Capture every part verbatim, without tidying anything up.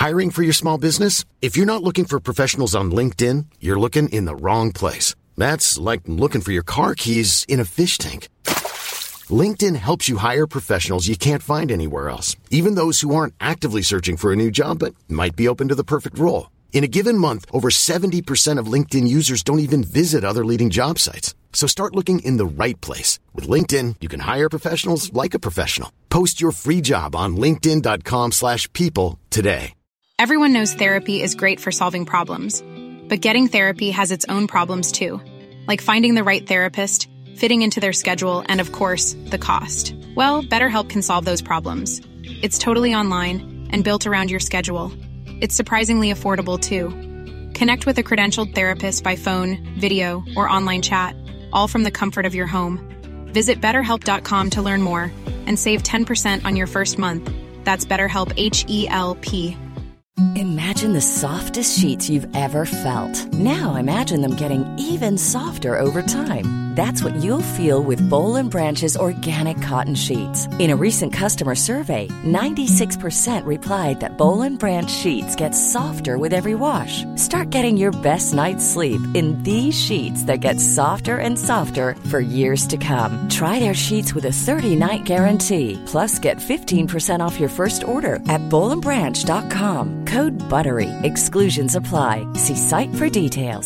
Hiring for your small business? If you're not looking for professionals on LinkedIn, you're looking in the wrong place. That's like looking for your car keys in a fish tank. LinkedIn helps you hire professionals you can't find anywhere else, even those who aren't actively searching for a new job but might be open to the perfect role. In a given month, over seventy percent of LinkedIn users don't even visit other leading job sites. So start looking in the right place. With LinkedIn, you can hire professionals like a professional. Post your free job on linkedin.com slash people today. Everyone knows therapy is great for solving problems, but getting therapy has its own problems too, like finding the right therapist, fitting into their schedule, and of course, the cost. Well, BetterHelp can solve those problems. It's totally online and built around your schedule. It's surprisingly affordable too. Connect with a credentialed therapist by phone, video, or online chat, all from the comfort of your home. Visit better help dot com to learn more and save ten percent on your first month. That's BetterHelp, H E L P. Imagine the softest sheets you've ever felt. Now imagine them getting even softer over time. That's what you'll feel with Boll and Branch's organic cotton sheets. In a recent customer survey, ninety-six percent replied that Boll and Branch sheets get softer with every wash. Start getting your best night's sleep in these sheets that get softer and softer for years to come. Try their sheets with a thirty-night guarantee. Plus, get fifteen percent off your first order at boll and branch dot com. Code BUTTERY. Exclusions apply. See site for details.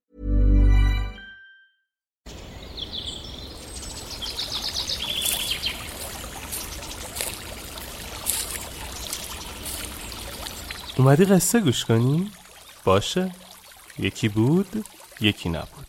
اومدی قصه گوش کنی؟ باشه. یکی بود، یکی نبود.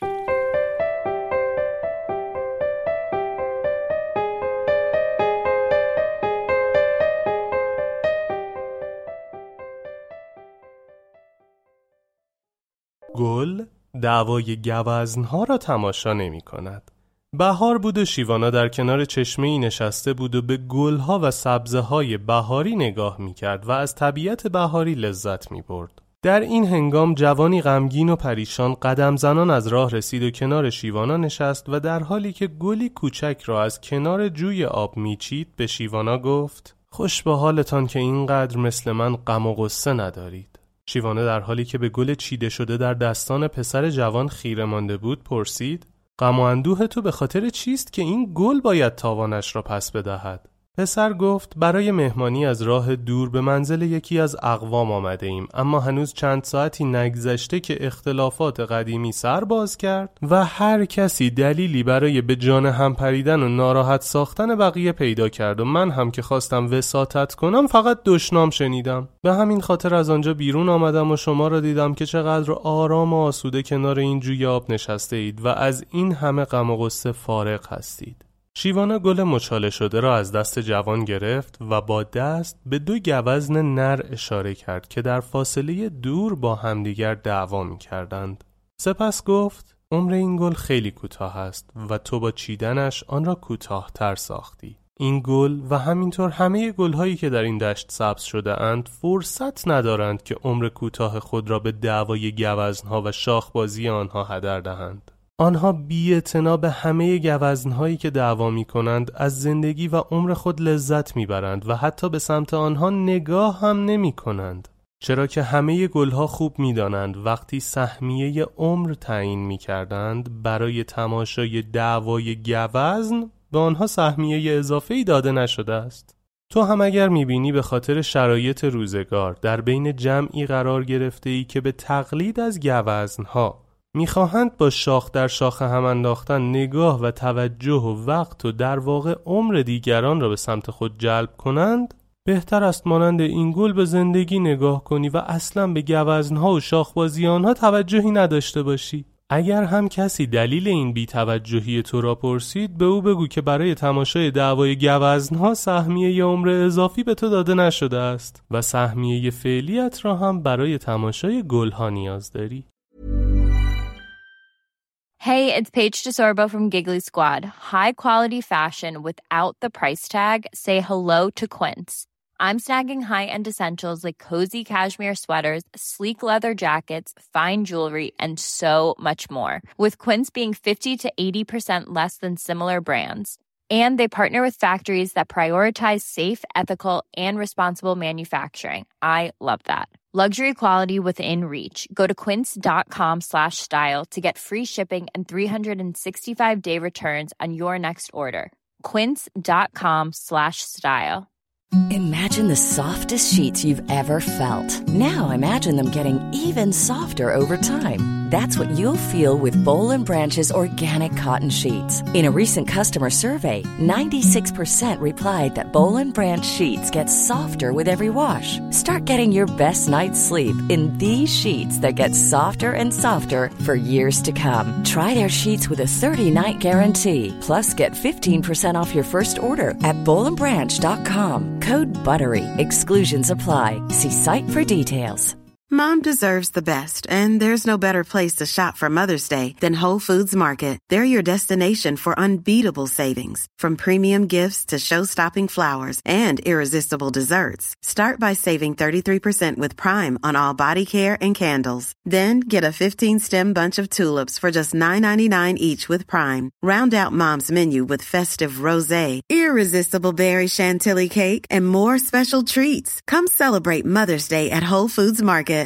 گل دعوای گوزنها را تماشا نمی کند. بهار بود و شیوانا در کنار چشمه‌ای نشسته بود و به گلها و سبزه‌های بهاری نگاه می‌کرد و از طبیعت بهاری لذت می‌برد. در این هنگام جوانی غمگین و پریشان قدم زنان از راه رسید و کنار شیوانا نشست و در حالی که گلی کوچک را از کنار جوی آب می‌چید به شیوانا گفت: خوش به حالتان که اینقدر مثل من غم و غصه ندارید. شیوانا در حالی که به گل چیده شده در دستان پسر جوان خیره مانده بود پرسید: غم و اندوه تو به خاطر چیست که این گل باید تاوانش را پس بدهد؟ پسر گفت: برای مهمانی از راه دور به منزل یکی از اقوام آمده ایم، اما هنوز چند ساعتی نگذشته که اختلافات قدیمی سر باز کرد و هر کسی دلیلی برای به جان هم پریدن و ناراحت ساختن بقیه پیدا کرد و من هم که خواستم وساطت کنم فقط دشنام شنیدم. به همین خاطر از آنجا بیرون آمدم و شما را دیدم که چقدر آرام و آسوده کنار این جوی آب نشسته اید و از این همه غم و غصه فارغ هستید. شیوانا گل مچاله شده را از دست جوان گرفت و با دست به دو گوزن نر اشاره کرد که در فاصله دور با همدیگر دعوا می کردند. سپس گفت: عمر این گل خیلی کوتاه است و تو با چیدنش آن را کوتاه‌تر ساختی. این گل و همینطور همه گل‌هایی که در این دشت سبز شده اند فرصت ندارند که عمر کوتاه خود را به دعوای گوزنها و شاخبازی آنها هدر دهند. آنها بی‌اعتنا به همه گوزنهایی که دعوا می‌کنند از زندگی و عمر خود لذت می‌برند و حتی به سمت آنها نگاه هم نمی‌کنند، چرا که همه گلها خوب می‌دانند وقتی سهمیه عمر تعیین می‌کردند برای تماشای دعوای گوزن به آنها سهمیه اضافه‌ای داده نشده است. تو هم اگر می‌بینی به خاطر شرایط روزگار در بین جمعی قرار گرفته‌ای که به تقلید از گوزنها میخواهند با شاخ در شاخ هم انداختن نگاه و توجه و وقت و در واقع عمر دیگران را به سمت خود جلب کنند، بهتر است مانند این گل به زندگی نگاه کنی و اصلا به گوزنها و شاخبازی آنها توجهی نداشته باشی. اگر هم کسی دلیل این بی‌توجهی تو را پرسید، به او بگو که برای تماشای دعوای گوزنها سهمیه عمر اضافی به تو داده نشده است و سهمیه فعلیت را هم برای تماشای گلها نیاز داری. Hey, it's Paige DeSorbo from Giggly Squad. High quality fashion without the price tag. Say hello to Quince. I'm snagging high-end essentials like cozy cashmere sweaters, sleek leather jackets, fine jewelry, and so much more. With Quince being fifty to eighty percent less than similar brands. And they partner with factories that prioritize safe, ethical, and responsible manufacturing. I love that. Luxury quality within reach. Go to quince.com slash style to get free shipping and three sixty-five day returns on your next order. Quince.com slash style. Imagine the softest sheets you've ever felt. Now imagine them getting even softer over time. That's what you'll feel with Boll and Branch's organic cotton sheets. In a recent customer survey, ninety-six percent replied that Boll and Branch sheets get softer with every wash. Start getting your best night's sleep in these sheets that get softer and softer for years to come. Try their sheets with a thirty-night guarantee. Plus, get fifteen percent off your first order at boll and branch dot com. Code BUTTERY. Exclusions apply. See site for details. Mom deserves the best, and there's no better place to shop for Mother's Day than Whole Foods Market. They're your destination for unbeatable savings, from premium gifts to show-stopping flowers and irresistible desserts. Start by saving thirty-three percent with Prime on all body care and candles. Then get a fifteen-stem bunch of tulips for just nine ninety-nine each with Prime. Round out Mom's menu with festive rosé, irresistible berry chantilly cake, and more special treats. Come celebrate Mother's Day at Whole Foods Market.